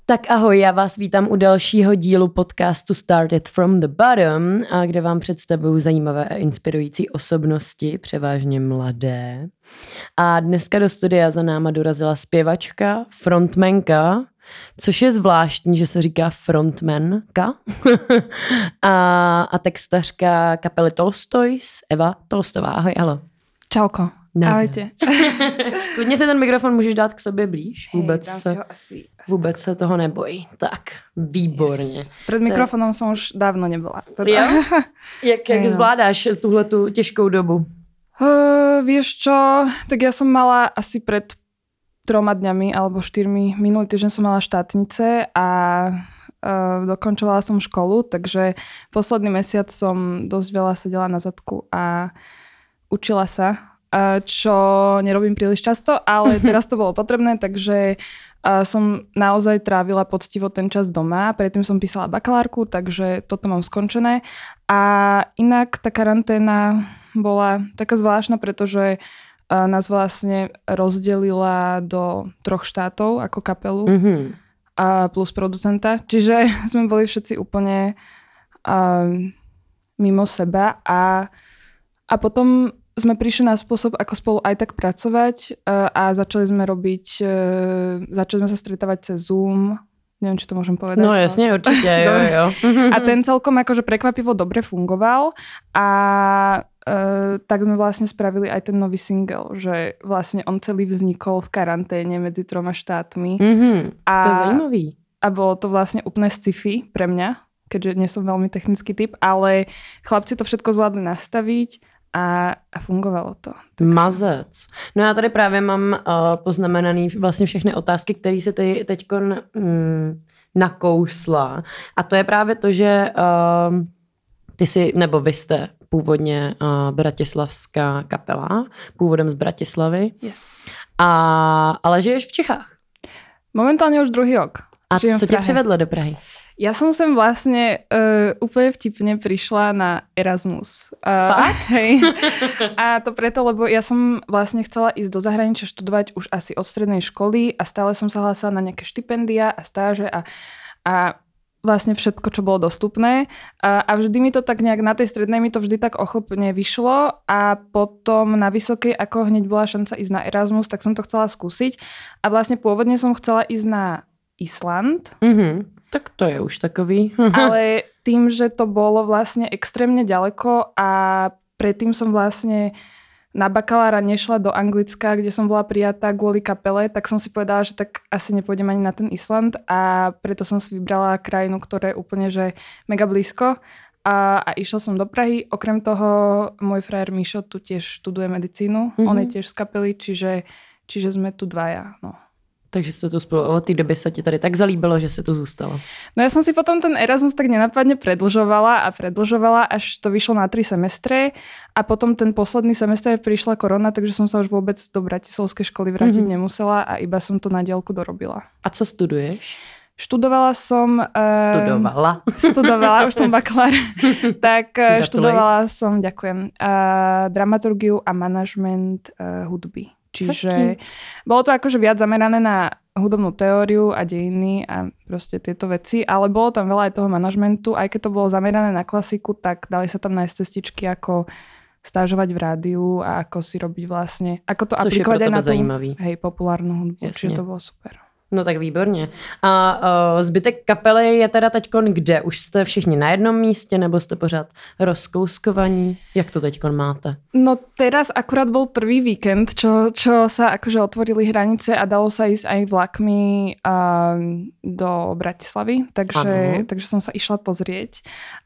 Tak ahoj, já vás vítám u dalšího dílu podcastu Started from the Bottom, kde vám představuju zajímavé a inspirující osobnosti, převážně mladé. A dneska do studia za náma dorazila zpěvačka, frontmanka, což je zvláštní, že se říká frontmanka, a textařka kapely Tolstoys, Eva Tolstová. Ahoj, alo. Čauko. Ahojte. Klidně si ten mikrofon můžeš dát k sobě blíž. Vůbec se toho nebojí. Tak, výborně. Yes. Před mikrofonem jsem už dávno nebyla. Jo? Jak zvládáš tuhletu těžkou dobu? Vieš čo, tak ja som mala asi pred 3 dňami alebo 4 minulý týždeň som mala štátnice a dokončovala som školu, takže posledný mesiac som dosť veľa sedela na zadku a učila sa, čo nerobím príliš často, ale teraz to bolo potrebné, takže som naozaj trávila poctivo ten čas doma. Predtým som písala bakalárku, takže toto mám skončené. A inak tá karanténa bola taká zvláštna, pretože nás vlastne rozdelila do 3 štátov ako kapelu a plus producenta. Čiže sme boli všetci úplne mimo seba a potom sme prišli na spôsob, ako spolu aj tak pracovať a začali sme sa stretávať cez Zoom. Neviem, či to môžem povedať. No jasne, určite, jo. A ten celkom akože prekvapivo dobre fungoval a tak sme vlastne spravili aj ten nový single, že vlastne on celý vznikol v karanténe medzi 3 štátmi. To je zajímavý. A bolo to vlastne úplne sci-fi pre mňa, keďže nie som veľmi technický typ, ale chlapci to všetko zvládli nastaviť a fungovalo to. Tak. Mazec. No já tady právě mám poznamenaný vlastně všechny otázky, které se ty teďko nakousla. A to je právě to, že vy jste původně bratislavská kapela, původem z Bratislavy. Yes. Ale žiješ v Čechách? Momentálně už 2. rok. A co tě přivedlo do Prahy? Ja som sem vlastne úplne vtipne prišla na Erasmus. Fakt? Hej. A to preto, lebo ja som vlastne chcela ísť do zahraničia študovať už asi od strednej školy a stále som sa hlásila na nejaké štipendia a stáže a vlastne všetko, čo bolo dostupné. A vždy mi to tak nejak, na tej strednej mi to vždy tak ochlpne vyšlo a potom na vysokej, ako hneď bola šanca ísť na Erasmus, tak som to chcela skúsiť. A vlastne pôvodne som chcela ísť na Island. Tak to je už takový. Ale tým, že to bolo vlastne extrémne ďaleko a predtým som vlastne na bakalára nešla do Anglicka, kde som bola prijatá kvôli kapele, tak som si povedala, že tak asi nepôjdem ani na ten Island a preto som si vybrala krajinu, ktorá je úplne že mega blízko a išla som do Prahy. Okrem toho môj frajer Mišo tu tiež študuje medicínu, on je tiež z kapely, čiže sme tu 2. No. Takže se to spolu od té doby se ti tady tak zalíbilo, že se tu zůstalo. No ja som si potom ten Erasmus tak nenápadne predĺžovala, až to vyšlo na 3 semestre a potom ten posledný semestr prišla korona, takže som sa už vôbec do bratislavskej školy vrátiť nemusela a iba som to na diaľku dorobila. A co studuješ? Študovala som... Studovala, už som bakalár. Tak študovala som, ďakujem, dramaturgiu a manažment hudby. Čiže bolo to akože viac zamerané na hudobnú teóriu a dejiny a proste tieto veci, ale bolo tam veľa aj toho manažmentu, aj keď to bolo zamerané na klasiku, tak dali sa tam nájsť cestičky, ako stážovať v rádiu a ako si robiť vlastne, ako to což aplikovať aj na tú populárnu hudbu, čiže to bolo super. No tak výborně. A zbytek kapely je teda teďkon kde? Už jste všichni na jednom místě nebo jste pořád rozkouskovaní? Jak to teďkon máte? No teraz akurát bol prvý víkend, čo sa akože otvorili hranice a dalo sa ísť aj vlakmi do Bratislavy, takže som sa išla pozrieť.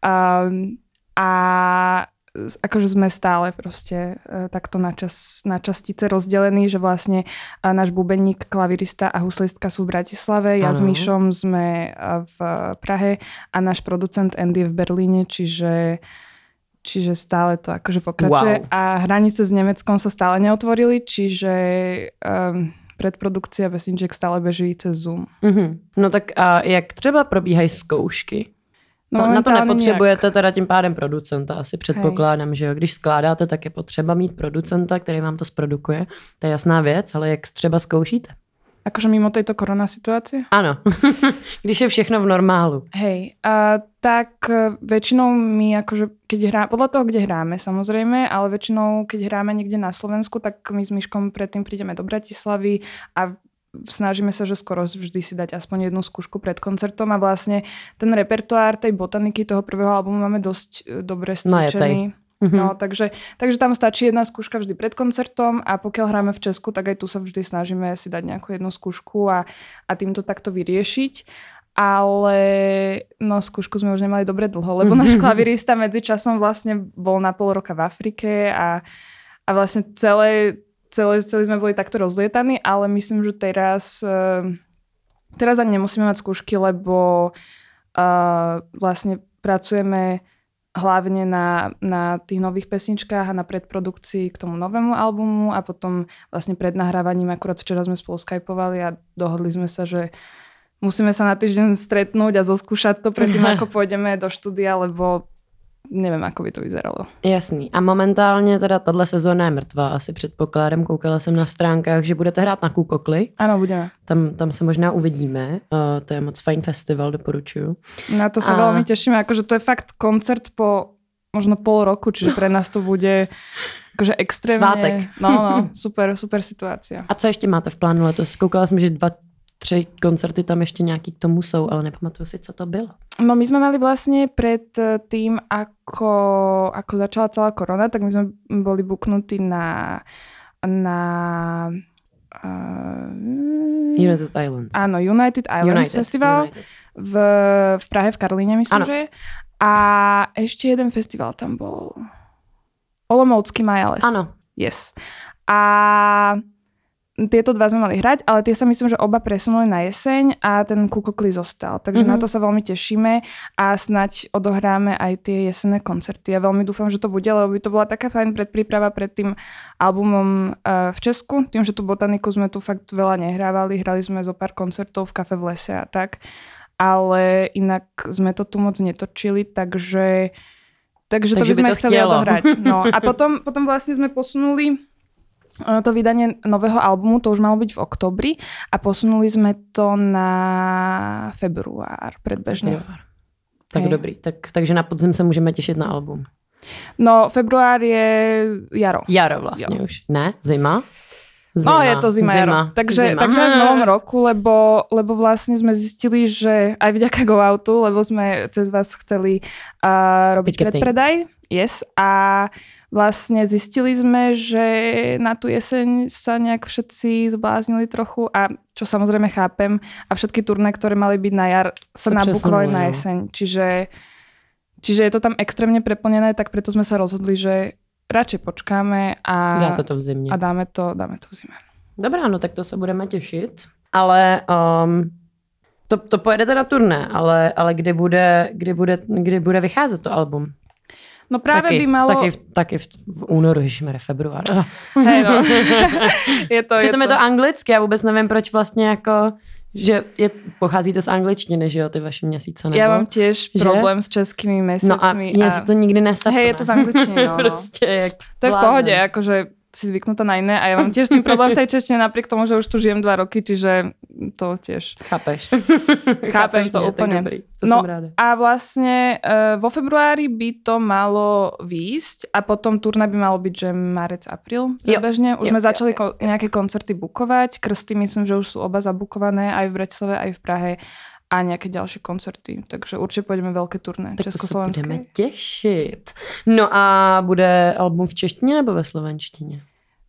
A akože sme stále proste takto na častice rozdelení, že vlastne náš bubeník, klavirista a huslistka sú v Bratislave, ja s Míšom sme v Prahe a náš producent Andy v Berlíne, čiže stále to akože pokračuje. Wow. A hranice s Nemeckom sa stále neotvorili, čiže predprodukcia Vesniček stále beží cez Zoom. No tak a jak třeba probíhají zkoušky? No, na to nepotřebujete nějak. Teda tím pádem producenta, asi předpokládám, že jo. Když skládáte, tak je potřeba mít producenta, který vám to zprodukuje. To je jasná věc, ale jak třeba zkoušíte? Akože mimo tejto korona situácie? Áno, když je všechno v normálu. Hej, tak väčšinou my akože, keď hráme, podľa toho, kde hráme samozrejme, ale väčšinou, keď hráme niekde na Slovensku, tak my s Myškom predtým prídeme do Bratislavy a snažíme sa, že skoro vždy si dať aspoň jednu skúšku pred koncertom a vlastne ten repertoár tej botaniky toho prvého albumu máme dosť dobre stvičený. No, takže tam stačí jedna skúška vždy pred koncertom a pokiaľ hráme v Česku, tak aj tu sa vždy snažíme si dať nejakú jednu skúšku a týmto takto vyriešiť. Ale no skúšku sme už nemali dobre dlho, lebo náš klavirista medzičasom vlastne bol na pol roka v Afrike a vlastne celý sme boli takto rozlietaní, ale myslím, že teraz ani nemusíme mať skúšky, lebo vlastne pracujeme hlavne na tých nových pesničkách a na predprodukcii k tomu novému albumu a potom vlastne pred nahrávaním akurát včera sme spolu skypovali a dohodli sme sa, že musíme sa na týždeň stretnúť a zoskúšať to predtým, ako pôjdeme do štúdia, lebo nevím, ako by to vyzeralo. Jasný. A momentálně teda tato sezóna je mrtvá. Asi předpokládám, koukala jsem na stránkách, že budete hrát na Kukokli. Ano, budeme. Tam se možná uvidíme. To je moc fajn festival, doporučuju. Na to sa veľmi tešíme. Akože to je fakt koncert po možno pol roku, čiže pre nás to bude akože extrémne. Svátek. No, super situácia. A co ještě máte v plánu letos? Koukala jsem, že 2-3 koncerty tam ještě nějaký k tomu jsou, ale nepamatuju si, co to bylo. No my sme mali vlastne pred tým, ako začala celá korona, tak my sme boli buknutí na United Islands. Áno, United Islands Festival. United. V Prahe, v Karlíne, myslím, že je. A ešte jeden festival tam bol. Olomoucký Majales. Áno. Yes. A tieto dva sme mali hrať, ale tie sa myslím, že oba presunuli na jeseň a ten Kukokli zostal. Takže na to sa veľmi tešíme a snať odohráme aj tie jesenné koncerty. Ja veľmi dúfam, že to bude, lebo by to bola taká fajn predpríprava pred tým albumom v Česku. Tým, že tú botaniku sme tu fakt veľa nehrávali. Hrali sme zo pár koncertov v Kafe v lese a tak. Ale inak sme to tu moc netočili, takže to by sme chceli odohrať. No. A potom vlastne sme posunuli to vydanie nového albumu, to už malo byť v oktobri a posunuli sme to na február predbežne. Tak dobrý. Takže na podzim se můžeme těšit na album. No, február je jaro. Jaro vlastně už. Ne? Zima? No, je to zima. Jaro. Takže až v novom roku, lebo vlastne sme zistili, že aj vďaka Go Outu, lebo sme cez vás chceli robiť predpredaj. Yes. A vlastne zistili sme, že na tú jeseň sa nejak všetci zbláznili trochu a čo samozrejme chápem a všetky turné, ktoré mali byť na jar, sa nabukovali na jeseň. Čiže je to tam extrémne preplnené, tak preto sme sa rozhodli, že radšej počkáme a dáte to v zimě. A dáme to v zime. Dobrá, no tak to se budeme těšit. Ale to pojedete na turné, ale kdy bude vycházet to album? No práve by malo... Taky v únoru, ježišmarja, február. Hej, no. je to. Je to anglicky, já vůbec nevím, proč vlastně jako... Že pochází to z angličtiny, že jo, ty vaše měsíce, nebo? Já mám tiež problém s českými mesiacmi. No a mně se to nikdy nesapne. Hej, je to z angličtiny, no. Prostě jak to je v pohode, akože si zvyknutá na iné a ja mám tiež s tým problém v tej češtine napriek tomu, že už tu žijem 2 roky, čiže to tiež... Chápeš. Chápem to úplne. To som ráda. A vlastne vo februári by to malo výjsť a potom turné by malo byť, že marec, apríl bežne. Už sme začali nejaké koncerty bukovať. Krsty myslím, že už sú oba zabukované aj v Bratislave, aj v Prahe a nejaké ďalšie koncerty. Takže určite pôjdeme veľké turné československé. Tak to se budeme těšit. No a bude album v češtině nebo ve slovenštině?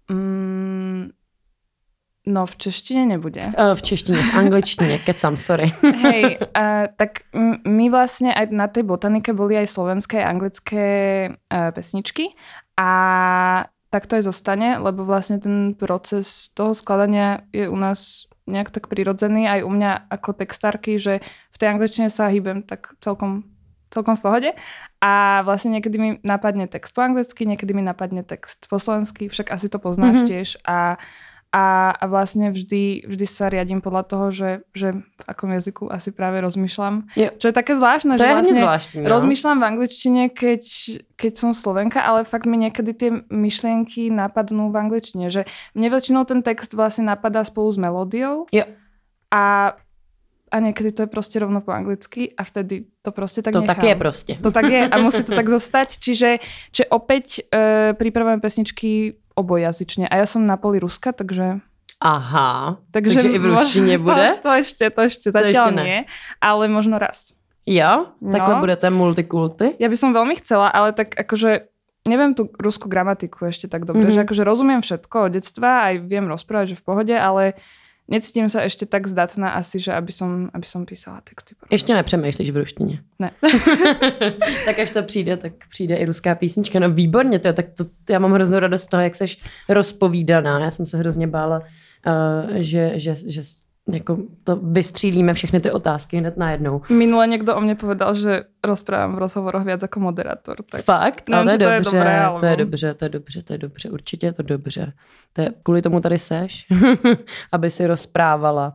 No v češtině nebude. V češtině, v angličtině, kecam, sorry. Hej, tak my vlastne aj na tej botanike boli aj slovenské, aj anglické pesničky a tak to aj zostane, lebo vlastne ten proces toho skladania je u nás nejak tak prirodzený, aj u mňa ako textárky, že v tej angličtine sa hýbem tak celkom v pohode a vlastne niekedy mi napadne text po anglicky, niekedy mi napadne text po slovensky, však asi to poznáš tiež a A vlastne vždy sa riadím podľa toho, že v akom jazyku asi práve rozmýšľam. Jo. Čo je také zvláštne, to že vlastne zvláštní, rozmýšľam v angličtine, keď som Slovenka, ale fakt mi niekedy tie myšlienky napadnú v angličtine. Že mne väčšinou ten text vlastne napadá spolu s melódiou. Jo. A niekedy to je proste rovno po anglicky a vtedy to proste tak to nechám. To tak je proste. To tak je a musí to tak zostať. Čiže opäť pripravujem pesničky obojazyčne. A ja som na poli Ruska, takže... Aha, takže i v ruštině bude? To ešte zatiaľ nie, ale možno raz. Jo? Takhle budete multikulty? Ja by som veľmi chcela, ale tak akože neviem tú ruskú gramatiku ešte tak dobre, že akože rozumiem všetko od detstva, aj viem rozprávať, že v pohode, ale necítím sa ešte tak zdatná asi, že aby som písala texty. Ještě nepřemýšlíš v ruštině? Ne. Tak až to přijde, tak přijde i ruská písnička. No výborně, tak to já mám hroznou radost z toho, jak seš rozpovídaná. Já jsem se hrozně bála, že jako to vystřílíme všechny ty otázky hned najednou. Minule někdo o mně povedal, že rozprávám v rozhovoroch viac jako moderátor. Tak fakt? Nevím, to je dobře, to je dobré, určitě je to dobře. Kvůli tomu tady seš, aby si rozprávala.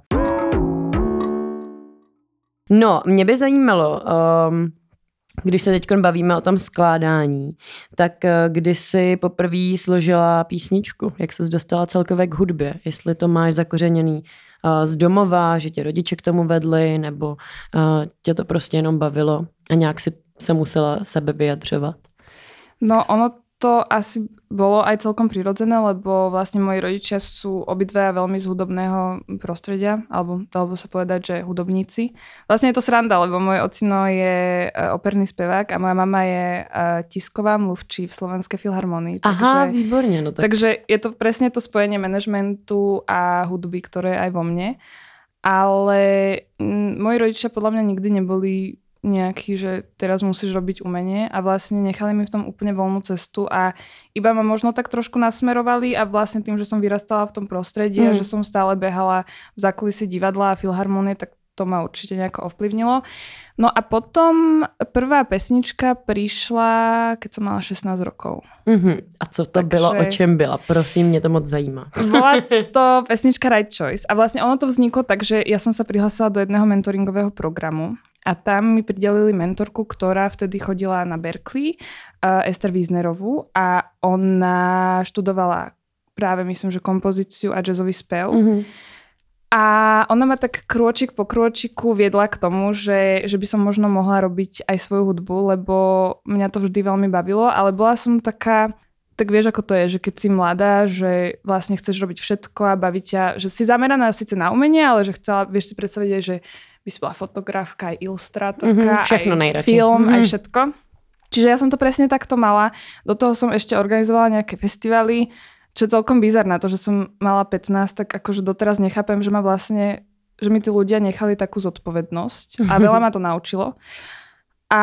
No, mě by zajímalo, když se teď bavíme o tom skládání, tak kdy jsi poprvé složila písničku? Jak ses dostala celkově k hudbě? Jestli to máš zakořeněný z domova, že tě rodiče k tomu vedli, nebo tě to prostě jenom bavilo a nějak si se musela sebe vyjadřovat? No ono to asi bolo aj celkom prirodzené, lebo vlastne moji rodičia sú obidvaja veľmi z hudobného prostredia, alebo dalo by sa povedať, že hudobníci. Vlastne je to sranda, lebo môj ocino je operný spevák a moja mama je tisková mluvčí v Slovenskej filharmonii. Aha, výborne. No tak. Takže je to presne to spojenie manažmentu a hudby, ktoré je aj vo mne. Ale moji rodičia podľa mňa nikdy neboli nejaký, že teraz musíš robiť umenie a vlastne nechali mi v tom úplne voľnú cestu a iba ma možno tak trošku nasmerovali a vlastne tým, že som vyrastala v tom prostredí a že som stále behala v zákulisí divadla a filharmonie, tak to ma určite nejako ovplyvnilo. No a potom prvá pesnička prišla, keď som mala 16 rokov. A co to bylo, o čem byla? Prosím, mě to moc zajímá. Bola to pesnička Right Choice a vlastne ono to vzniklo tak, že ja som sa prihlásila do jedného mentoringového programu. A tam mi pridelili mentorku, ktorá vtedy chodila na Berkeley, Ester Wiesnerovú a ona študovala práve, myslím, že kompozíciu a jazzový spev. A ona ma tak krôčik po krôčiku viedla k tomu, že by som možno mohla robiť aj svoju hudbu, lebo mňa to vždy veľmi bavilo, ale bola som taká, tak vieš, ako to je, že keď si mladá, že vlastne chceš robiť všetko a baví ťa, že si zameraná síce na umenie, ale že chcela, vieš si predstaviť aj, že by si bola fotografka, aj ilustrátorka, všechno aj nejradšej. Film, aj všetko. Čiže ja som to presne takto mala. Do toho som ešte organizovala nejaké festivaly, čo je celkom bizarné. To, že som mala 15, tak akože doteraz nechápem, že že mi tí ľudia nechali takú zodpovednosť a veľa ma to naučilo. A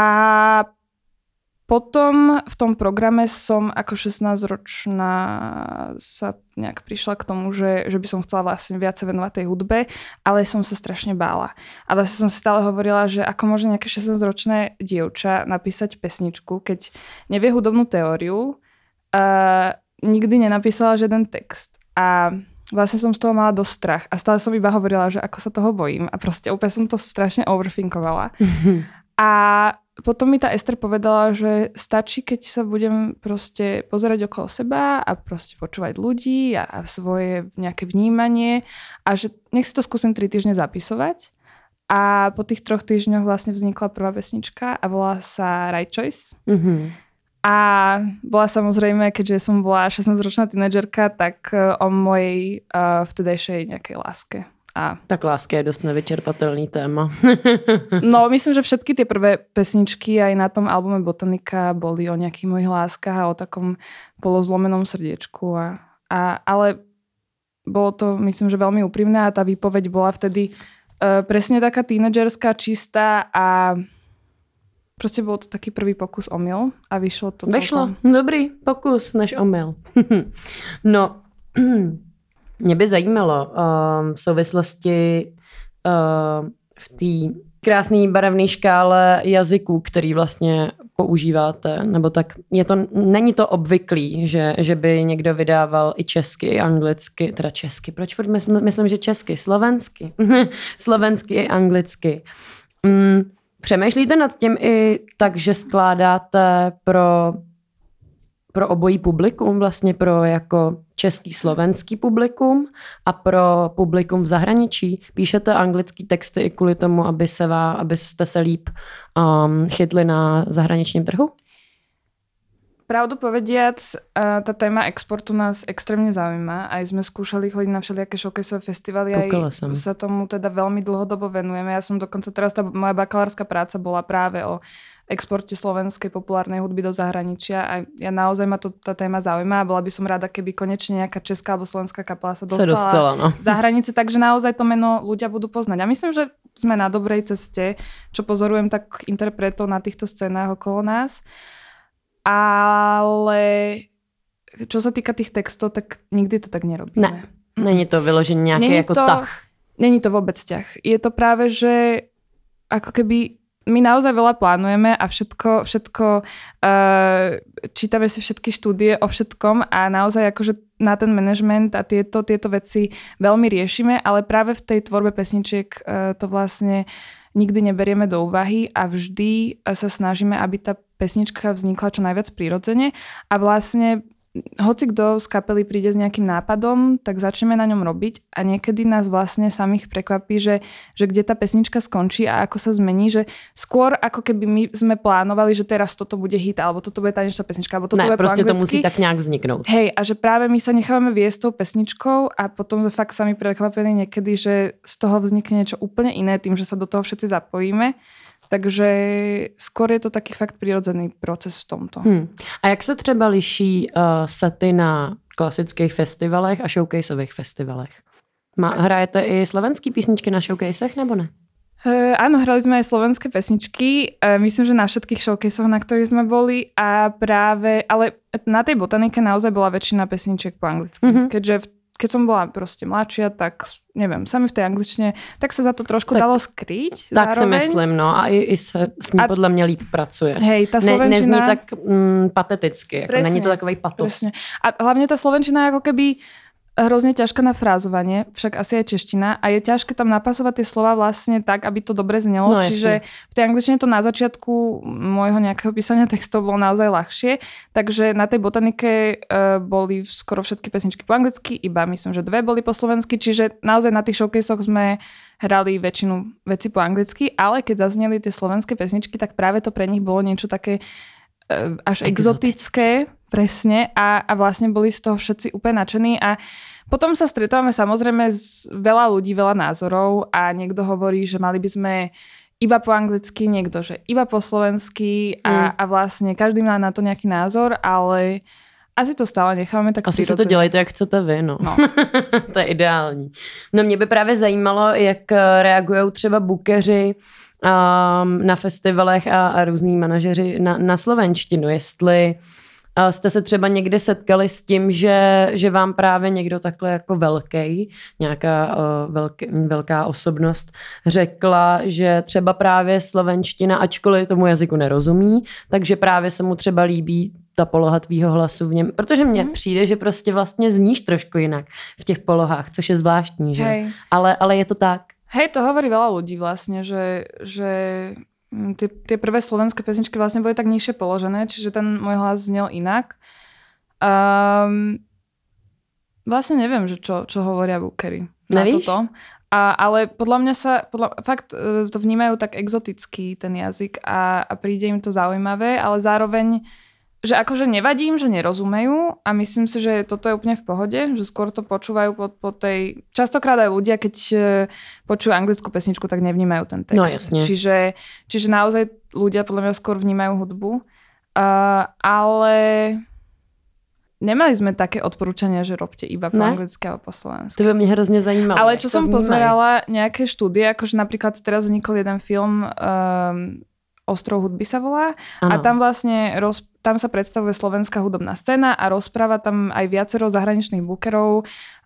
potom v tom programe som ako 16-ročná sa nejak prišla k tomu, že by som chcela vlastne viac sa venovať tej hudbe, ale som sa strašne bála. A vlastne som si stále hovorila, že ako môže nejaké 16-ročné dievča napísať pesničku, keď nevie hudobnú teóriu, nikdy nenapísala žiaden text. A vlastne som z toho mala dosť strach. A stále som iba hovorila, že ako sa toho bojím. A proste úplne som to strašne overthinkovala. A potom mi tá Ester povedala, že stačí, keď sa budem proste pozerať okolo seba a proste počúvať ľudí a svoje nejaké vnímanie a že nech si to skúsim 3 týždne zapisovať. A po tých 3 týždňoch vlastne vznikla prvá pesnička a volá sa Right Choice. A bola samozrejme, keďže som bola 16-ročná tínedžerka, tak o mojej vtedajšej nejakej láske. Tak láska je dosť nevyčerpatelný téma. No, myslím, že všetky tie prvé pesničky aj na tom albume Botanika boli o nejakých mojich láskach a o takom polozlomenom srdiečku. Ale bolo to, myslím, že veľmi úprimné a tá výpoveď bola vtedy presne taká tínedžerská, čistá a proste bol to taký prvý pokus omyl a vyšlo to celkom. Vyšlo, dobrý pokus než omyl. No, mě by zajímalo v souvislosti v té krásné barevné škále jazyků, který vlastně používáte, nebo tak není to obvyklý, že by někdo vydával i česky, i anglicky, teda česky, proč furt myslím, že česky, slovensky, slovensky i anglicky. Přemýšlíte nad tím i tak, že skládáte pro obojí publikum, vlastně pro jako český, slovenský publikum a pro publikum v zahraničí? Píšete anglický texty i kvůli tomu, abyste se líp chytli na zahraničním trhu? Pravdu povediac, tá téma exportu nás extrémne zaujíma. Aj sme skúšali chodiť na všelijaké showcaseové festivaly. Aj sa tomu teda veľmi dlhodobo venujeme. Ja som dokonca teraz, tá moja bakalárska práca bola práve o exporte slovenskej populárnej hudby do zahraničia a ja naozaj ma tá téma zaujíma a bola by som rada, keby konečne nejaká česká alebo slovenská kapela sa dostala za hranice, takže naozaj to meno ľudia budú poznať. A myslím, že sme na dobrej ceste, čo pozorujem tak interpretov na týchto scénách okolo nás. Ale čo sa týka tých textov, tak nikdy to tak nerobíme. Ne, není to vyložený nejaký jako tah. Není to vôbec ťah. Je to práve, že ako keby my naozaj veľa plánujeme a všetko čítame si všetky štúdie o všetkom a naozaj akože na ten management a tieto veci veľmi riešime, ale práve v tej tvorbe pesničiek to vlastne nikdy neberieme do úvahy a vždy sa snažíme, aby tá pesnička vznikla čo najviac prirodzene a vlastne hoci kto z kapely príde s nejakým nápadom, tak začneme na ňom robiť a niekedy nás vlastne samých prekvapí, že kde tá pesnička skončí a ako sa zmení, že skôr ako keby my sme plánovali, že teraz toto bude hit, alebo toto bude tanečná pesnička, alebo toto bude po anglicky. Ne, proste to musí tak nejak vzniknúť. Hej, a že práve my sa nechávame viesť tou pesničkou a potom sme fakt sami prekvapení niekedy, že z toho vznikne niečo úplne iné tým, že sa do toho všetci zapojíme. Takže skôr je to taký fakt prirodzený proces v tomto. A jak se třeba liší sety na klasických festivalech a showcaseových festivalech? Hrajete i slovenský písničky na showcasech, nebo ne? Áno, hrali sme aj slovenské pesničky. Myslím, že na všetkých showcasoch, na ktorých sme boli. Ale na tej botanike naozaj bola väčšina pesničiek po anglicky. Keďže keď som bola proste mladšia, tak neviem, sami v tej angličtine, tak sa za to trošku dalo skryť. Tak zároveň. Si myslím, no a i se s ní podle mě líp pracuje. Hej, tá slovenčina... Nezní tak pateticky, jako není to takovej patos. Presne. A hlavne tá slovenčina je ako keby hrozne ťažká na frázovanie, však asi aj čeština a je ťažké tam napasovať tie slova vlastne tak, aby to dobre znelo. No, čiže v tej angličtine to na začiatku môjho nejakého písania textov bolo naozaj ľahšie, takže na tej botanike boli skoro všetky pesničky po anglicky, iba myslím, že 2 boli po slovensky, čiže naozaj na tých showcasoch sme hrali väčšinu veci po anglicky, ale keď zazneli tie slovenské pesničky, tak práve to pre nich bolo niečo také až exotické, presne, a vlastne boli z toho všetci úplne nadšení a potom sa stretávame samozrejme s veľa ľudí, veľa názorov a niekto hovorí, že mali by sme iba po anglicky, niekto, že iba po slovensky a vlastne každý má na to nejaký názor, ale asi to stále necháme tak asi si to dělejte, jak chcete vy, no. To je ideální. No mě by právě zajímalo, jak reagují třeba bookeři na festivalech a různý manažeři na slovenštinu, jestli jste se třeba někdy setkali s tím, že vám právě někdo takhle jako nějaká velká osobnost řekla, že třeba právě slovenština, ačkoliv tomu jazyku nerozumí, takže právě se mu třeba líbí ta poloha tvýho hlasu v něm, protože mně přijde, že prostě vlastně zníš trošku jinak v těch polohách, což je zvláštní, že? Hej. Ale je to tak. Hej, to hovorí veľa ľudí vlastne, že tie prvé slovenské pesničky vlastne boli tak nižšie položené, čiže ten môj hlas znel inak. Vlastne neviem, že čo hovoria bookery na toto. Ale podľa mňa fakt to vnímajú tak exoticky ten jazyk a príde im to zaujímavé, ale zároveň že akože nevadím, že nerozumejú a myslím si, že toto je úplne v pohode, že skôr to počúvajú po tej... Častokrát aj ľudia, keď počujú anglickú pesničku, tak nevnímajú ten text. No jasne. Čiže naozaj ľudia podľa mňa skôr vnímajú hudbu. Ale nemali sme také odporúčania, že robte iba po anglicky alebo po slovensky. To by mňa hrozne zajímalo. Ale čo som pozerala, nejaké štúdie, akože napríklad teraz vznikol jeden film Ostrov hudby sa volá. Ano. A tam vlastne tam sa predstavuje slovenská hudobná scéna a rozpráva tam aj viacero zahraničných bookerov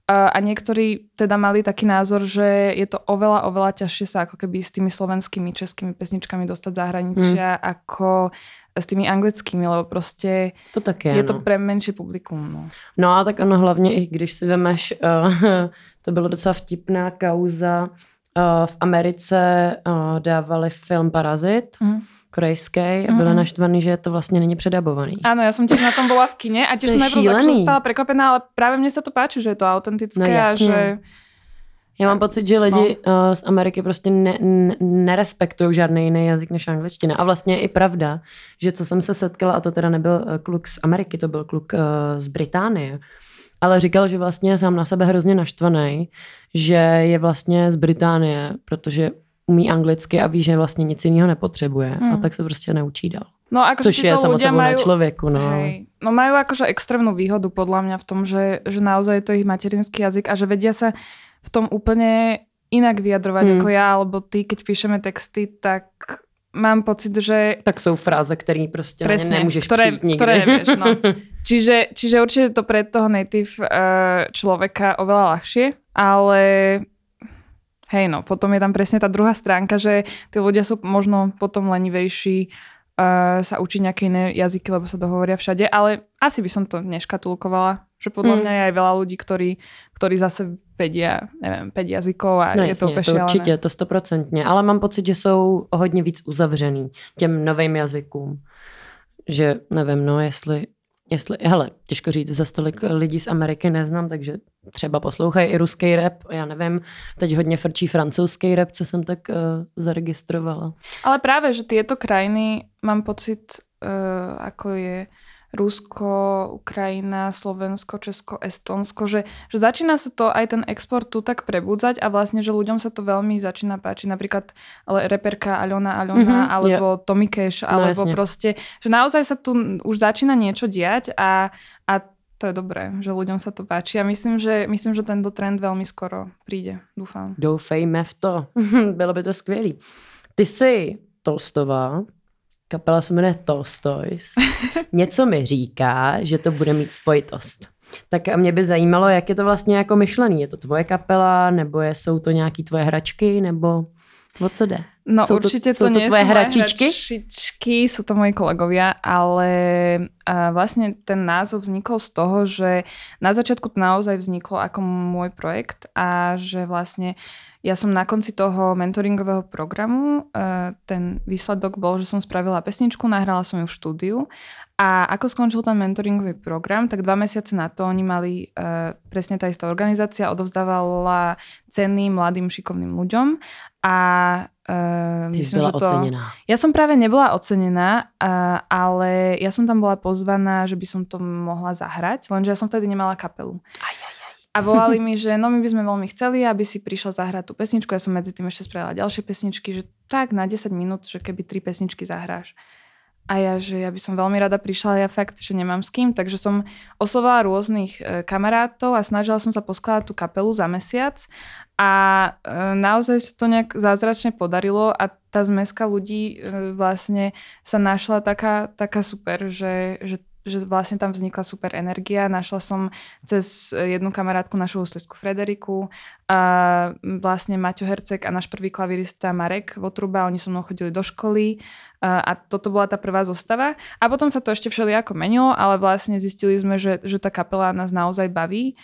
A niektorí teda mali taký názor, že je to oveľa ťažšie sa ako keby s tými slovenskými, českými pesničkami dostať zahraničia ako s tými anglickými, lebo prostě to tak je to pre menší publikum. No a tak ono hlavně, i když si vemeš, to bylo docela vtipná kauza, v Americe dávali film Parazit, korejský a byla naštvaný, že to vlastně není předabovaný. Áno, ja som tiež na tom bola v kine a tiež som najprv akože stala prekvapená, ale práve mne sa to páči, že je to autentické a že... Já mám pocit, že lidi z Ameriky prostě nerespektují žádný jiný jazyk než angličtina. A vlastně je i pravda, že co jsem se setkala, a to teda nebyl kluk z Ameriky, to byl kluk z Británie, ale říkal, že vlastně je sám na sebe hrozně naštvaný, že je vlastně z Británie, protože umí anglicky a ví, že vlastně nic jiného nepotřebuje. A tak se prostě neučí dál. No, ako což je samo sebou na človeku. No. Hej, no majú akože extrémnu výhodu podľa mňa v tom, že naozaj je to ich materinský jazyk a že vedia sa v tom úplne inak vyjadrovať ako ja, alebo ty, keď píšeme texty, tak mám pocit, že... Tak sú fráze, ktoré proste presne, na ne nemôžeš přijít nikdy. Ktoré nevieš, no. Čiže určite to pre toho native človeka oveľa ľahšie, ale hej no, potom je tam presne tá druhá stránka, že tí ľudia sú možno potom lenivejší sa učiť nejaké iné jazyky, lebo sa dohovoria všade, ale asi by som to neškatulkovala, že podľa mňa je aj veľa ľudí, ktorí zase vedia, neviem, 5 jazykov a no je to úplně to určitě, to 100%, ale mám pocit, že jsou hodně víc uzavřený těm novým jazykům, že nevím, no jestli hele, těžko říct, za tolik lidí z Ameriky neznám, takže třeba poslouchají i ruský rap, já nevím, teď hodně frčí francouzský rap, co jsem tak zaregistrovala. Ale práve, že tieto krajiny, mám pocit, ako je Rusko, Ukrajina, Slovensko, Česko, Estonsko, že začína sa to aj ten export tu tak prebudzať a vlastne, že ľuďom sa to veľmi začína páčiť. Napríklad reperka Aľona, alebo Tommy Cash, alebo proste, že naozaj sa tu už začína niečo diať a to je dobré, že ľuďom sa to páči a myslím, že tento trend veľmi skoro príde. Dúfam. Doufejme v to. Bylo by to skvělý. Ty jsi Tolstová, kapela se jmenuje Tolstoys. Něco mi říká, že to bude mít spojitost. Tak mě by zajímalo, jak je to vlastně jako myšlený. Je to tvoje kapela, nebo jsou to nějaký tvoje hračky, nebo o co jde? No určite to nie sú tvoje hračičky? Sú to moji kolegovia, ale vlastne ten názov vznikol z toho, že na začiatku to naozaj vzniklo ako môj projekt a že vlastne ja som na konci toho mentoringového programu, ten výsledok bol, že som spravila pesničku, nahrala som ju v štúdiu a ako skončil ten mentoringový program, tak 2 mesiace na to oni mali, presne tá istá organizácia odovzdávala ceny mladým šikovným ľuďom a myslím, byla že to... ocenená. Ja som práve nebola ocenená, ale ja som tam bola pozvaná, že by som to mohla zahrať, lenže ja som vtedy nemala kapelu. A volali mi, že no my by sme veľmi chceli, aby si prišla zahrať tú pesničku. Ja som medzi tým ešte spravila ďalšie pesničky, že tak na 10 minút, že keby 3 pesničky zahráš. A ja, že ja by som veľmi rada prišla, ja fakt, že nemám s kým, takže som oslovala rôznych kamarátov a snažila som sa poskladať tú kapelu za mesiac a naozaj sa to nejak zázračne podarilo a tá zmeska ľudí vlastne sa našla taká super, že vlastne tam vznikla super energia. Našla som cez jednu kamarátku našu huslisku Frederiku a vlastne Maťo Herceg a náš prvý klavirista Marek Votruba, oni so mnou chodili do školy a toto bola tá prvá zostava. A potom sa to ešte všelijako menilo, ale vlastne zistili sme, že tá kapela nás naozaj baví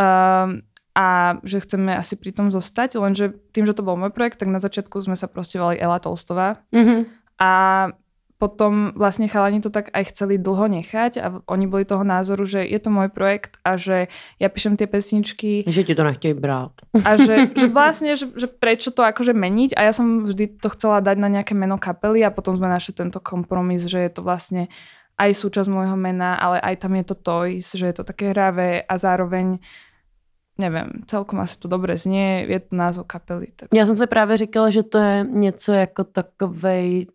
a že chceme asi pri tom zostať, lenže tým, že to bol môj projekt, tak na začiatku sme sa proste volali Ela Tolstová. A potom vlastne chalani to tak aj chceli dlho nechať a oni boli toho názoru, že je to môj projekt a že ja píšem tie pesničky. Že ti to nechtějí brát. A že vlastne, že prečo to akože meniť a ja som vždy to chcela dať na nejaké meno kapely a potom sme našli tento kompromis, že je to vlastne aj súčasť môjho mena, ale aj tam je to Toys, že je to také hravé a zároveň nevím, celkom asi to dobře zní, je to názov kapely. Tak. Já jsem se právě říkala, že to je něco jako takovej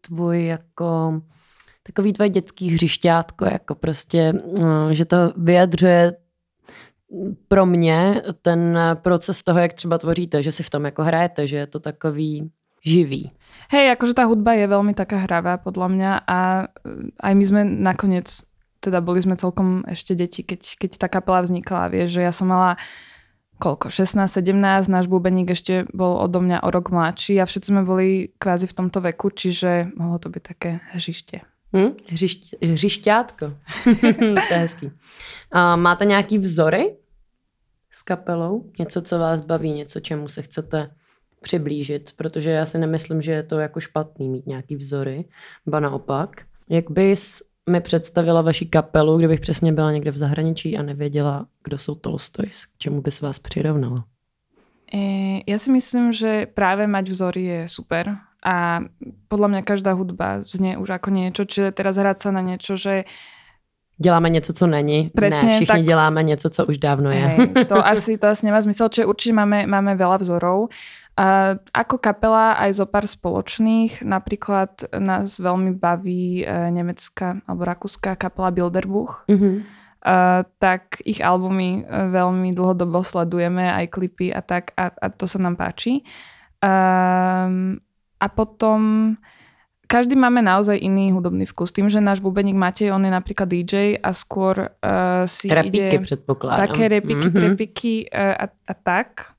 takový tvoje dětský hřišťátko, jako prostě, že to vyjadřuje pro mě ten proces toho, jak třeba tvoříte, že si v tom jako hrajete, že je to takový živý. Hej, akože tá hudba je veľmi taká hravá podľa mňa a aj my sme nakoniec, teda boli sme celkom ešte deti, keď tá kapela vznikala, vieš, že ja som mala koľko, 16-17, náš bubeník ešte bol odo mňa o rok mladší a všetci sme boli kvázi v tomto veku, čiže mohlo to byť také hřiště. Hřišťátko. To je hezký. Máte nějaký vzory s kapelou? Něco, co vás baví, něco, čemu se chcete přiblížit? Protože já si nemyslím, že je to jako špatný mít nějaký vzory, ba naopak. Jak bys mi představila vaši kapelu, kdybych přesně byla někde v zahraničí a nevěděla, kdo jsou Tolstoys? K čemu bys vás přirovnala? Ja si myslím, že práve mať vzory je super a podľa mňa každá hudba znie už ako niečo, čiže teraz hrať sa na niečo, že děláme něco, co není. Presne, ne, všichni tak děláme něco, co už dávno je. Hej, to asi nemá zmysel, čiže určite máme veľa vzorov. Ako kapela aj zo pár spoločných, napríklad nás veľmi baví nemecká alebo rakúska kapela Bilderbuch. Tak ich albumy veľmi dlhodobo sledujeme, aj klipy a tak a to sa nám páči. A potom každý máme naozaj iný hudobný vkus. Tým, že náš bubeník Matej, on je napríklad DJ a skôr si Repíky, ide předpokládám. také repiky a tak.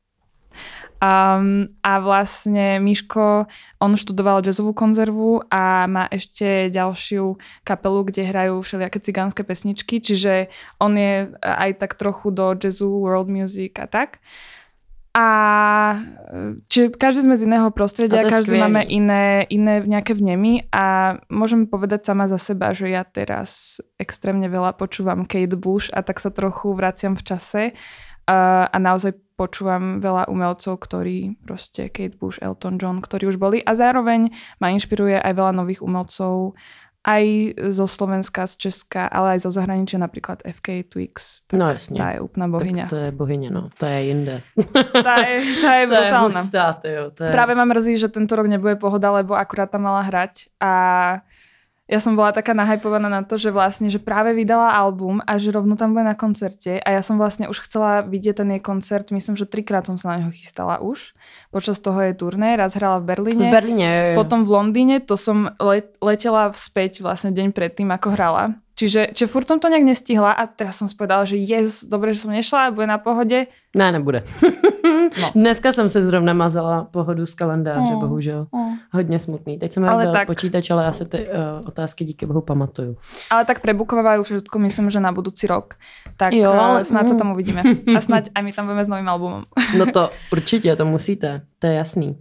A vlastne Miško, on študoval jazzovú konzervu a má ešte ďalšiu kapelu, kde hrajú všelijaké cigánske pesničky, čiže on je aj tak trochu do jazzu, world music a tak. A čiže každý sme z iného prostredia, každý máme iné nejaké vnemy a môžem povedať sama za seba, že ja teraz extrémne veľa počúvam Kate Bush a tak sa trochu vraciam v čase a naozaj počúvam veľa umelcov, ktorí proste Kate Bush, Elton John, ktorí už boli a zároveň ma inšpiruje aj veľa nových umelcov aj zo Slovenska, z Česka, ale aj zo zahraničia, napríklad FK Twix. No jasně. Tá je úplná bohyňa. Tak to je bohyně, no. To je jinde. Tá je brutálna. To je hustá, tyjo. Práve ma mrzí, že tento rok nebude Pohoda, lebo akurát tam mala hrať a ja som bola taká nahypovaná na to, že vlastne, že práve vydala album a že rovno tam bude na koncerte a ja som vlastne už chcela vidieť ten jej koncert, myslím, že 3-krát som sa na neho chystala už. Počas toho jej turné, raz hrala v Berlíne. Potom v Londýne, to som letela späť vlastne deň predtým, ako hrala. Čiže furt som to nejak nestihla a teraz som si povedala, že dobre, že som nešla, bude na Pohode. Ne, nebude. No. Dneska jsem se zrovna mazala Pohodu z kalendáře, bohužel. Hodně smutný. Teď jsem byl počítač, ale já se ty otázky díky bohu pamatuju. Ale tak prebukovajú všetko, myslím, že na budúci rok. Tak jo, ale snáď sa tam uvidíme. A snáď aj my tam budeme s novým albumom. No to určitě, to musíte. To je jasný.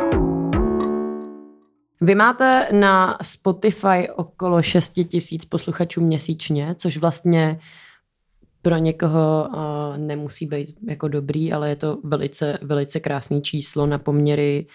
Vy máte na Spotify okolo 6 000 posluchačů měsíčně, což vlastně pro někoho nemusí být jako dobrý, ale je to velice, velice krásný číslo na poměry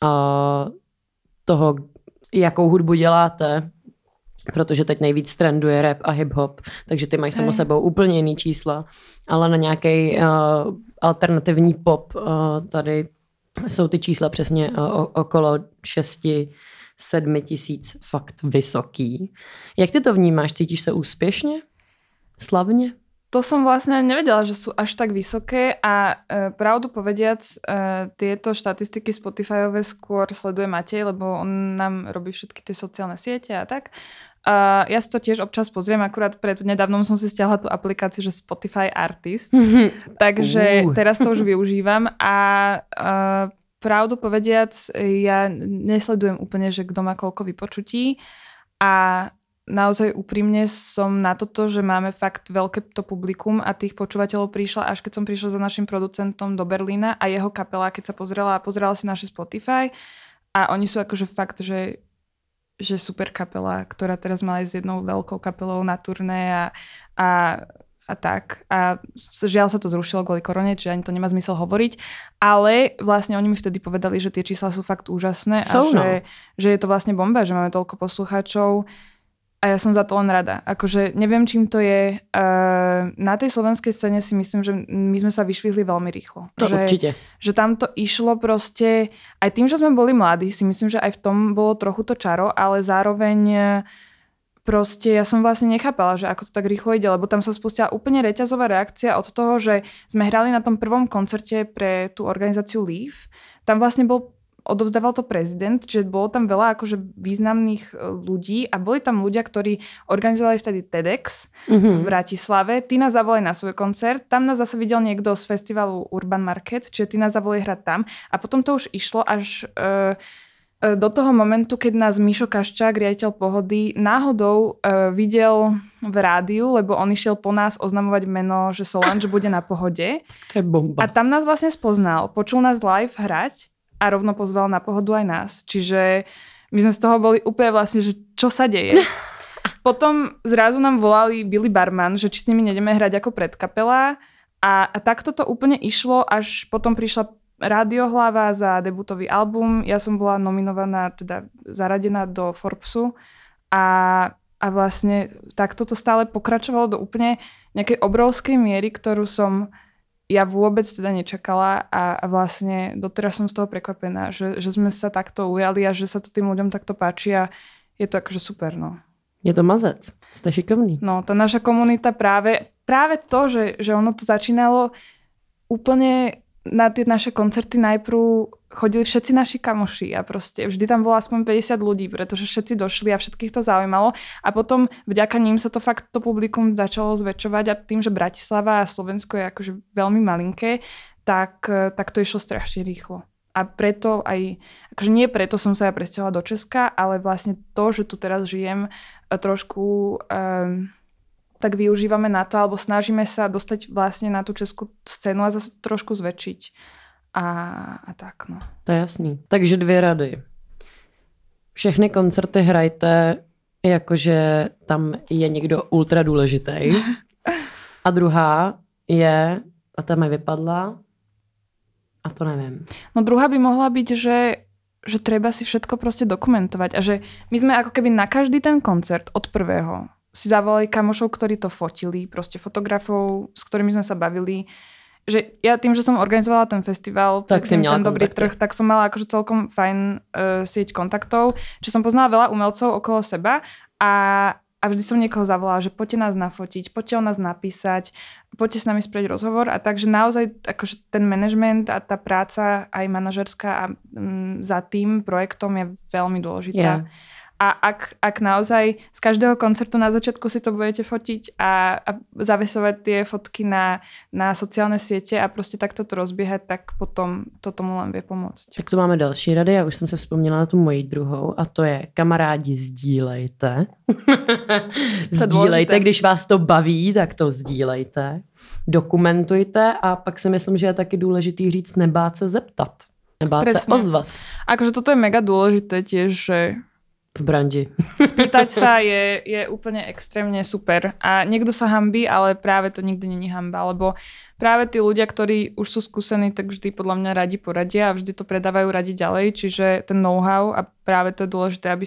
toho, jakou hudbu děláte, protože teď nejvíc trenduje rap a hip-hop, takže ty mají samo sebou úplně jiný čísla, ale na nějaký alternativní pop tady jsou ty čísla přesně okolo 6-7 000, fakt vysoký. Jak ty to vnímáš? Cítíš se úspěšně? Slavně? To som vlastne nevedela, že sú až tak vysoké a pravdu povediac, tieto štatistiky Spotifyové skôr sleduje Matej, lebo on nám robí všetky tie sociálne siete a tak. Ja si to tiež občas pozriem, akurát pred nedávnom som si stiahla tú aplikáciu, že Spotify Artist, takže teraz to už využívam a pravdu povediac, ja nesledujem úplne, že kto má koľko vypočutí a naozaj úprimne som na toto, že máme fakt veľké to publikum a tých počúvateľov prišla, až keď som prišla za našim producentom do Berlína a jeho kapela, keď sa pozerala si naše Spotify a oni sú akože fakt, že super kapela, ktorá teraz mala s jednou veľkou kapelou na turné a tak. A žiaľ sa to zrušilo kvôli korone, čiže ani to nemá zmysel hovoriť, ale vlastne oni mi vtedy povedali, že tie čísla sú fakt úžasné a že je to vlastne bomba, že máme toľko poslucháčov. A ja som za to len rada. Akože neviem, čím to je. Na tej slovenskej scéne si myslím, že my sme sa vyšvihli veľmi rýchlo. To určite. Že tam to išlo proste, aj tým, že sme boli mladí, si myslím, že aj v tom bolo trochu to čaro, ale zároveň proste ja som vlastne nechápala, že ako to tak rýchlo ide, lebo tam sa spustila úplne reťazová reakcia od toho, že sme hrali na tom prvom koncerte pre tú organizáciu Leaf. Tam vlastne bol odovzdával to prezident, čiže bolo tam veľa akože významných ľudí a boli tam ľudia, ktorí organizovali vtedy TEDx v Bratislave. Tí nás zavolali na svoj koncert, tam nás zase videl niekto z festivalu Urban Market, čiže tí nás zavolali hrať tam a potom to už išlo až do toho momentu, keď nás Mišo Kaščák, riaditeľ Pohody, náhodou videl v rádiu, lebo on išiel po nás oznamovať meno, že Solange bude na Pohode. To je bomba. A tam nás vlastne spoznal, počul nás live hrať a rovno pozval na Pohodu aj nás. Čiže my sme z toho boli úplne vlastne, že čo sa deje. Potom zrazu nám volali Billy Barman, že či s nimi nejdeme hrať ako predkapela a takto to úplne išlo, až potom prišla Rádiohlava za debutový album. Ja som bola nominovaná, teda zaradená do Forbesu a vlastne takto to stále pokračovalo do úplne nejakej obrovskej miery, ktorú som ja vôbec teda nečakala a vlastne doteraz som z toho prekvapená, že sme sa takto ujali a že sa to tým ľuďom takto páči a je to akože super, no. Je to mazec, ste šikovný. No, tá naša komunita práve to, že ono to začínalo úplne na tie naše koncerty najprv chodili všetci naši kamoši a proste vždy tam bolo aspoň 50 ľudí, pretože všetci došli a všetkých to zaujímalo a potom vďaka ním sa to fakt to publikum začalo zväčšovať a tým, že Bratislava a Slovensko je akože veľmi malinké, tak to išlo strašne rýchlo. A preto aj, akože nie preto som sa ja presťahovala do Česka, ale vlastne to, že tu teraz žijem trošku tak využívame na to, alebo snažíme sa dostať vlastne na tú českú scénu a zase trošku zväčšiť. A tak, no. To je jasný. Takže 2 rady. Všechny koncerty hrajte, jakože tam je někdo ultra důležitý. A druhá je, a ta mi vypadla, a to neviem. No druhá by mohla byť, že treba si všetko proste dokumentovať. A že my sme ako keby na každý ten koncert od prvého si zavolali kamošov, ktorí to fotili, proste fotografov, s ktorými sme sa bavili. Že ja tým, že som organizovala ten festival, tak ten dobrý trh, tak som mala akože celkom fajn sieť kontaktov, že som poznala veľa umelcov okolo seba a vždy som niekoho zavolala, že poďte nás nafotiť, poďte o nás napísať, poďte s nami spraviť rozhovor a takže naozaj akože ten management a tá práca aj manažerská a za tým projektom je veľmi dôležitá. Yeah. A ak naozaj z každého koncertu na začiatku si to budete fotiť a zavesovať tie fotky na sociálne siete a prostě takto to rozbíhat, tak potom to tomu len vie pomôcť. Tak tu máme další rady, já už jsem se vzpomněla na tu moji druhou a to je kamarádi, sdílejte. Sdílejte, když vás to baví, tak to sdílejte. Dokumentujte a pak si myslím, že je taky důležitý říct nebát se zeptat. Nebát se ozvat. Akože toto je mega dôležité tiež, že v branži. Spýtať sa je úplne extrémne super. A niekto sa hanbí, ale práve to nikdy není hanba, lebo práve tí ľudia, ktorí už sú skúsení, tak vždy podľa mňa radi poradia a vždy to predávajú radi ďalej, čiže ten know-how a práve to je dôležité, aby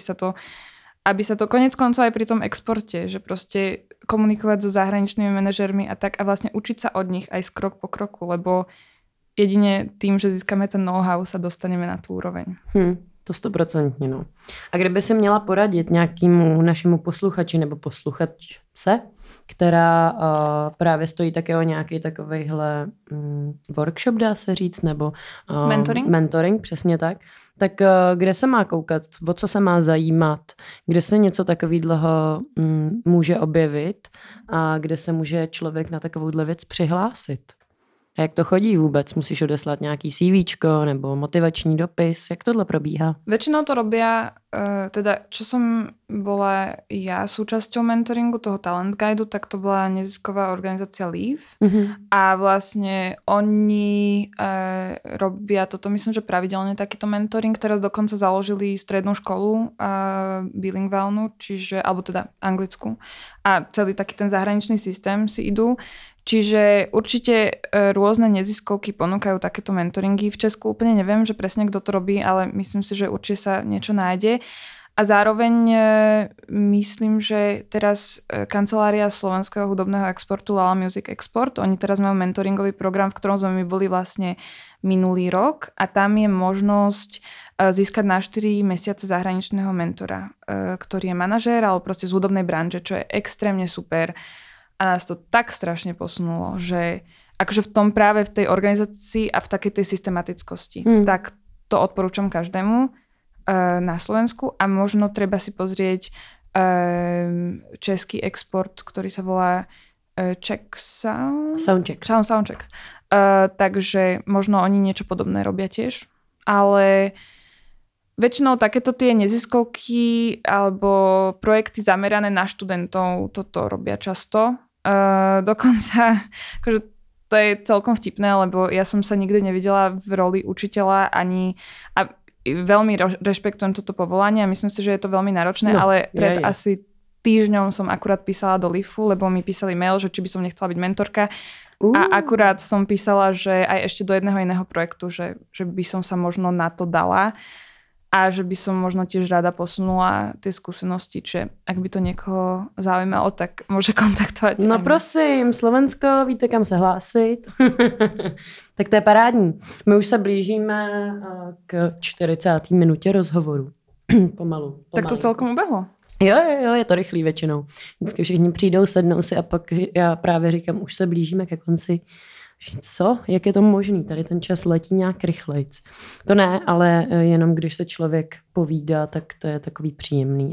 sa to konec koncov aj pri tom exporte, že proste komunikovať so zahraničnými manažérmi a tak a vlastne učiť sa od nich aj krok po kroku, lebo jedine tým, že získame ten know-how, sa dostaneme na tú úroveň. To 100%, no. A kdyby si měla poradit nějakému našemu posluchači nebo posluchačce, která právě stojí také o nějaký takovejhle workshop, dá se říct, nebo mentoring, přesně tak kde se má koukat, o co se má zajímat, kde se něco takového může objevit a kde se může člověk na takovouhle věc přihlásit. A jak to chodí vůbec? Musíš odeslat nějaký CVčko nebo motivační dopis? Jak tohle probíhá? Väčšinou to robia, teda čo som bola ja súčasťou mentoringu toho Talent Guideu, tak to bola nezisková organizácia Leaf. A vlastne oni robia toto, myslím, že pravidelne takýto mentoring. Teraz dokonca založili strednú školu bilingválnu, alebo teda anglickú. A celý taký ten zahraničný systém si idú. Čiže určite rôzne neziskovky ponúkajú takéto mentoringy. V Česku úplne neviem, že presne kto to robí, ale myslím si, že určite sa niečo nájde. A zároveň myslím, že teraz kancelária Slovenského hudobného exportu Lala Music Export, oni teraz majú mentoringový program, v ktorom sme my boli vlastne minulý rok a tam je možnosť získať na 4 mesiace zahraničného mentora, ktorý je manažér alebo proste z hudobnej branže, čo je extrémne super. A nás to tak strašne posunulo, že akože v tom práve v tej organizácii a v takej tej systematickosti. Tak to odporúčam každému na Slovensku a možno treba si pozrieť český export, ktorý sa volá Czech Soundcheck. Soundcheck. Takže možno oni niečo podobné robia tiež. Ale väčšinou takéto tie neziskovky alebo projekty zamerané na študentov toto robia často. Dokonca, akože to je celkom vtipné, lebo ja som sa nikdy nevidela v roli učiteľa ani... A veľmi rešpektujem toto povolanie a myslím si, že je to veľmi náročné, ale pred asi týždňom som akurát písala do LIFu, lebo mi písali mail, že či by som nechcela byť mentorka. A akurát som písala, že aj ešte do jedného iného projektu, že by som sa možno na to dala a že by som možno tiež rada posunula tie skúsenosti, čiže ak by to niekoho zaujímalo, tak môže kontaktovať. No prosím, Slovensko, víte, kam se hlásit. Tak to je parádní. My už se blížíme k 40. minutě rozhovoru. Pomalu. Tak to celkom ubehlo. Jo, je to rychlý většinou. Vždycky všichni přijdou, sednou si a pak já právě říkám, už se blížíme ke konci. Co? Jak je to možný? Tady ten čas letí nějak rychlejc. To ne, ale jenom když se člověk povídá, tak to je takový příjemný.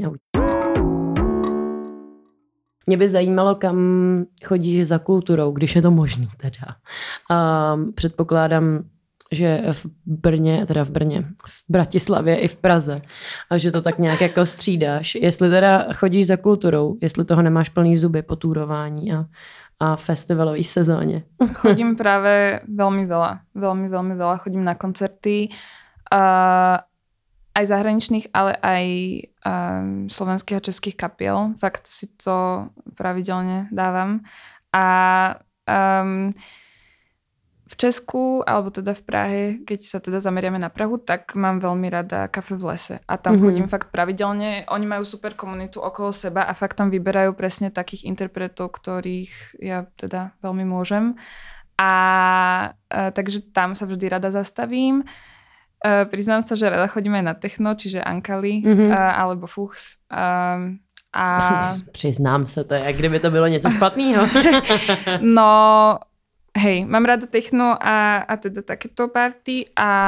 Mě by zajímalo, kam chodíš za kulturou, když je to možný teda. Předpokládám, že v Bratislavě i v Praze, a že to tak nějak jako střídáš. Jestli teda chodíš za kulturou, jestli toho nemáš plný zuby po túrování a festivalovej sezóne. Chodím práve veľmi veľa. Chodím na koncerty aj zahraničných, ale aj slovenských a českých kapiel. Fakt si to pravidelne dávam. A v Česku, alebo teda v Prahe, keď sa teda zameriame na Prahu, tak mám veľmi rada Kafe v lese. A tam chodím fakt pravidelne. Oni majú super komunitu okolo seba a fakt tam vyberajú presne takých interpretov, ktorých ja teda veľmi môžem. Takže tam sa vždy rada zastavím. Priznám sa, že rada chodím aj na techno, čiže Ankali alebo Fuchs. Přiznám se, to je, jak kdyby to bylo něco špatného. No... Hej, mám rada techno a teda takéto party a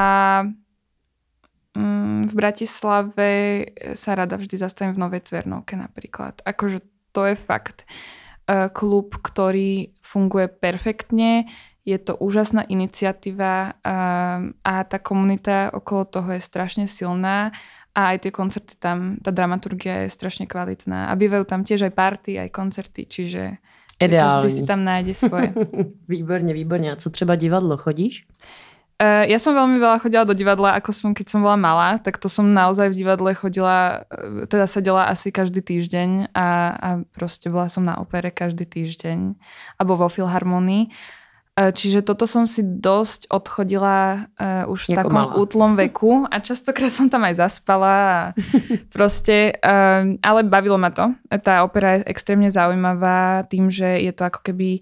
v Bratislave sa rada vždy zastavím v Novej Cvernovke napríklad. Akože to je fakt klub, ktorý funguje perfektne, je to úžasná iniciatíva a tá komunita okolo toho je strašne silná a aj tie koncerty tam, tá dramaturgia je strašne kvalitná a bývajú tam tiež aj party, aj koncerty, čiže... Ideální. Každý si tam nájde svoje. Výborně. A co třeba divadlo? Chodíš? Ja som veľmi veľa chodila do divadla, keď som bola malá, tak to som naozaj v divadle chodila, teda sedela asi každý týždeň a proste bola som na opere každý týždeň alebo vo Filharmonii. Čiže toto som si dosť odchodila už v takom útlom veku a častokrát som tam aj zaspala a proste, ale bavilo ma to. Tá opera je extrémne zaujímavá tým, že je to ako keby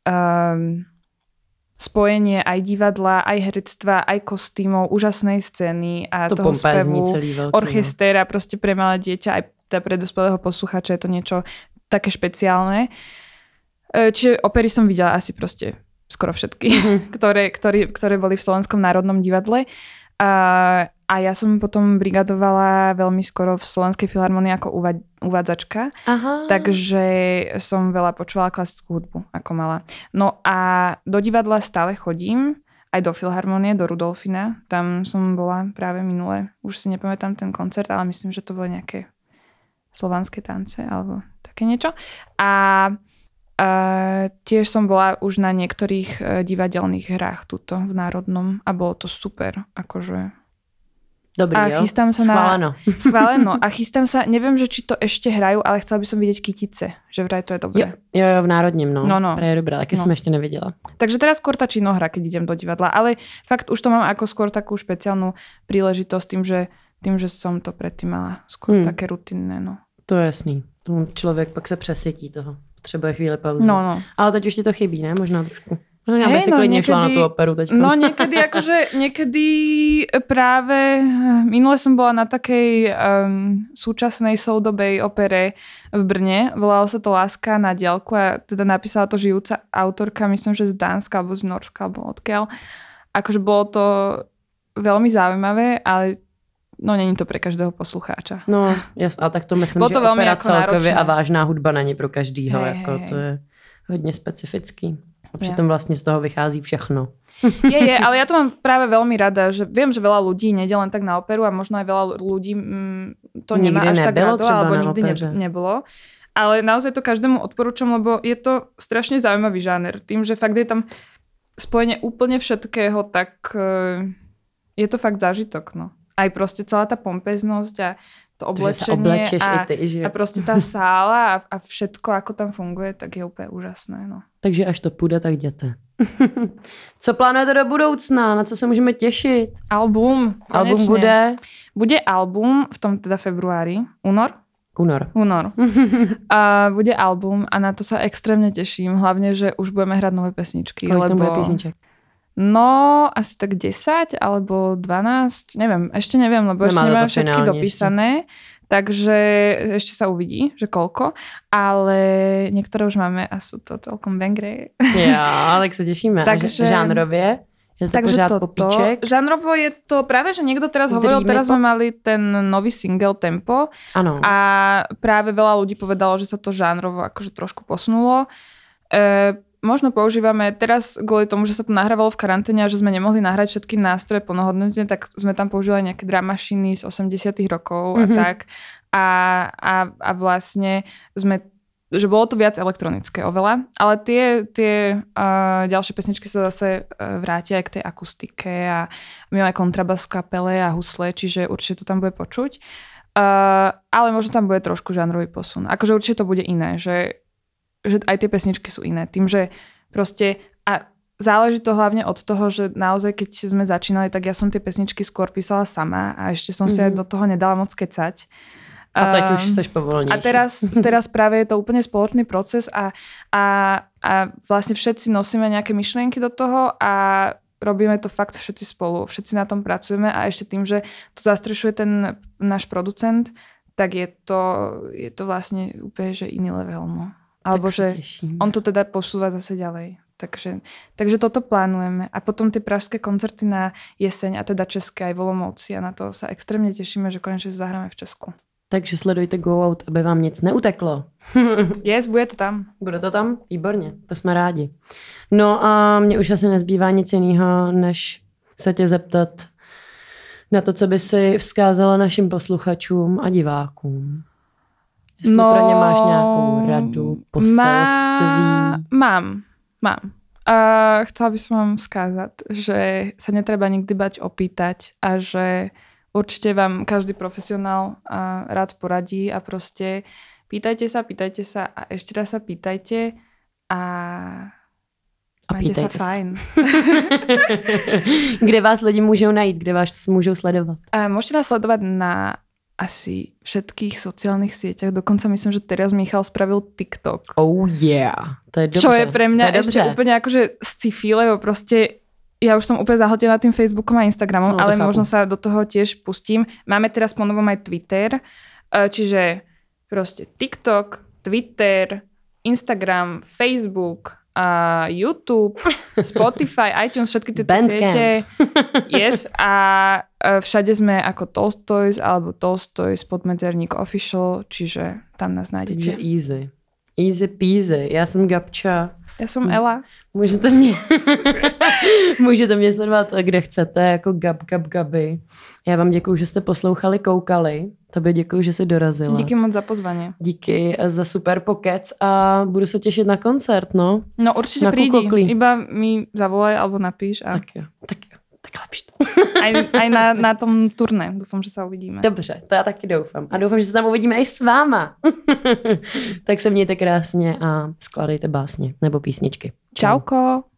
spojenie aj divadla, aj herectva, aj kostýmov, úžasnej scény a to toho spevu, veľký, orchestéra, proste pre malé dieťa, aj pre dospelého posluchača je to niečo také špeciálne. Čiže opery som videla asi proste skoro všetky, ktoré boli v Slovenskom národnom divadle. A ja som potom brigadovala veľmi skoro v Slovenskej filharmonii ako uvádzačka. Aha. Takže som veľa počúvala klasickú hudbu ako mala. No a do divadla stále chodím, aj do filharmonie, do Rudolfina. Tam som bola práve minule. Už si nepamätám ten koncert, ale myslím, že to boli nejaké slovanské tance alebo také niečo. A tiež som bola už na niektorých divadelných hrách tuto v Národnom a bolo to super, akože. Dobrý, a chystám sa schváleno. A chystám sa, neviem, že či to ešte hrajú, ale chcela by som vidieť Kytice, že vraj to je dobré. Jo, v Národním, no. Vraj je dobré, taky som ešte nevidela. Takže teraz skôr tá činohra, keď idem do divadla, ale fakt už to mám ako skôr takú špeciálnu príležitosť tým, že som to predtým mala skôr také rutinné, no. To je jasný. Človek pak se přesytí toho. Potřebuje chvíli pauzu. No. Ale teď už ti to chybí, ne? Možná trošku. Já bych si klidně šla na tú operu teďka. No niekedy práve minule som bola na takej súčasnej soudobej opere v Brne. Volalo sa to Láska na diaľku a teda napísala to žijúca autorka, myslím, že z Dánska alebo z Norska alebo odkiaľ. Akože bolo to veľmi zaujímavé, ale no není to pre každého poslucháča. No, a tak to myslím, že opera celkově a vážná hudba není pro každýho. To je hodně specifický. A přitom vlastně z toho vychází všechno. Je, ale ja to mám práve veľmi rada, že viem, že veľa ľudí nejde len tak na operu a možno aj veľa ľudí to nemá až tak rado, alebo nikdy nebolo. Ale naozaj to každému odporúčam, lebo je to strašne zaujímavý žáner. Tým, že fakt je tam spojenie úplne všetkého, tak je to fakt zážitok. No. Aj proste celá tá pompeznosť a to oblečenie a proste tá sála a všetko, ako tam funguje, tak je úplne úžasné. No. Takže až to půjde, tak jděte. Co plánujete do budoucna? Na co se můžeme těšit? Album. Konečne. Album bude? Bude album v tom teda februári. Únor. Bude album a na to sa extrémne teším. Hlavne, že už budeme hrať nové pesničky. Kolik tam bude písniček? No, asi tak 10 alebo 12. Ešte neviem, lebo ešte nemáme všetky dopísané. Takže ešte sa uvidí, že koľko. Ale niektoré už máme a sú to celkom bangry. Jo, tak sa tešíme. Takže žánrově? Je to pořád popíček? Žánrovo je to práve, že niekto teraz hovoril, teraz sme mali ten nový single Tempo. Ano. A práve veľa ľudí povedalo, že sa to žánrovo akože trošku posunulo. Možno používame teraz kvôli tomu, že sa to nahrávalo v karanténe a že sme nemohli nahrať všetky nástroje plnohodnotne, tak sme tam používali nejaké drum machiny z 80 rokov a tak. A vlastne že bolo to viac elektronické oveľa, ale tie ďalšie pesničky sa zase vrátia aj k tej akustike a my máme kontrabas v kapele a husle, čiže určite to tam bude počuť. Ale možno tam bude trošku žánrový posun. Akože určite to bude iné, že aj tie pesničky sú iné. Tým, že proste a záleží to hlavne od toho, že naozaj keď sme začínali, tak ja som tie pesničky skôr písala sama a ešte som si aj do toho nedala moc kecať. A teď už seš povolnejší. A teraz práve je to úplne spoločný proces a vlastne všetci nosíme nejaké myšlienky do toho a robíme to fakt všetci spolu. Všetci na tom pracujeme a ešte tým, že to zastrešuje ten náš producent, tak je to vlastne úplne že iný level. No. Alebo že on to teda posúva zase ďalej. Takže toto plánujeme. A potom tie pražské koncerty na jeseň a teda české aj v Olomouci a na to sa extrémne tešíme, že konečne zahráme v Česku. Takže sledujte Go Out, aby vám nic neuteklo. Yes, bude to tam. Bude to tam? Výborně, to jsme rádi. No a mně už asi nezbývá nic jiného, než se tě zeptat na to, co by si vzkázala našim posluchačům a divákům. Jestli pro ně máš nějakou radu, poselství? Mám. Chcela by som vám skázať, že sa netreba nikdy bať opýtať a že určite vám každý profesionál rád poradí a proste pýtajte sa a ešte raz sa pýtajte a majte sa fajn. Kde vás lidi môžou najít? Kde vás môžou sledovať? Môžete nás sledovať na asi všetkých sociálnych sieťach. Dokonca myslím, že teraz Michal spravil TikTok. Oh yeah. To je dobře. Čo je pre mňa ešte úplne akože sci-fi, lebo proste ja už som úplne zahltená tým Facebookom a Instagramom, ale možno sa do toho tiež pustím. Máme teraz po novom aj Twitter, čiže proste TikTok, Twitter, Instagram, Facebook, YouTube, Spotify, iTunes, všetky tieto siete. Yes, a všade sme ako Tolstoys alebo Tolstoys podmedzerník official, čiže tam nás nájdete. Takže easy. Easy peasy. Já jsem Gabča. Já jsem Ela. Můžete mě sledovat, kde chcete, jako Gaby. Já vám děkuju, že jste poslouchali, koukali. Tobě děkuju, že jsi dorazila. Díky moc za pozvání. Díky za super pokec a budu se těšit na koncert, no. No určitě prídi, iba mi zavolaj alebo napíš. A... Tak jo. Tak lepší to. Aj na tom turné. Doufám, že se uvidíme. Dobře, to já taky doufám. A doufám, že se tam uvidíme i s váma. Tak se mějte krásně a skládejte básně nebo písničky. Čauko.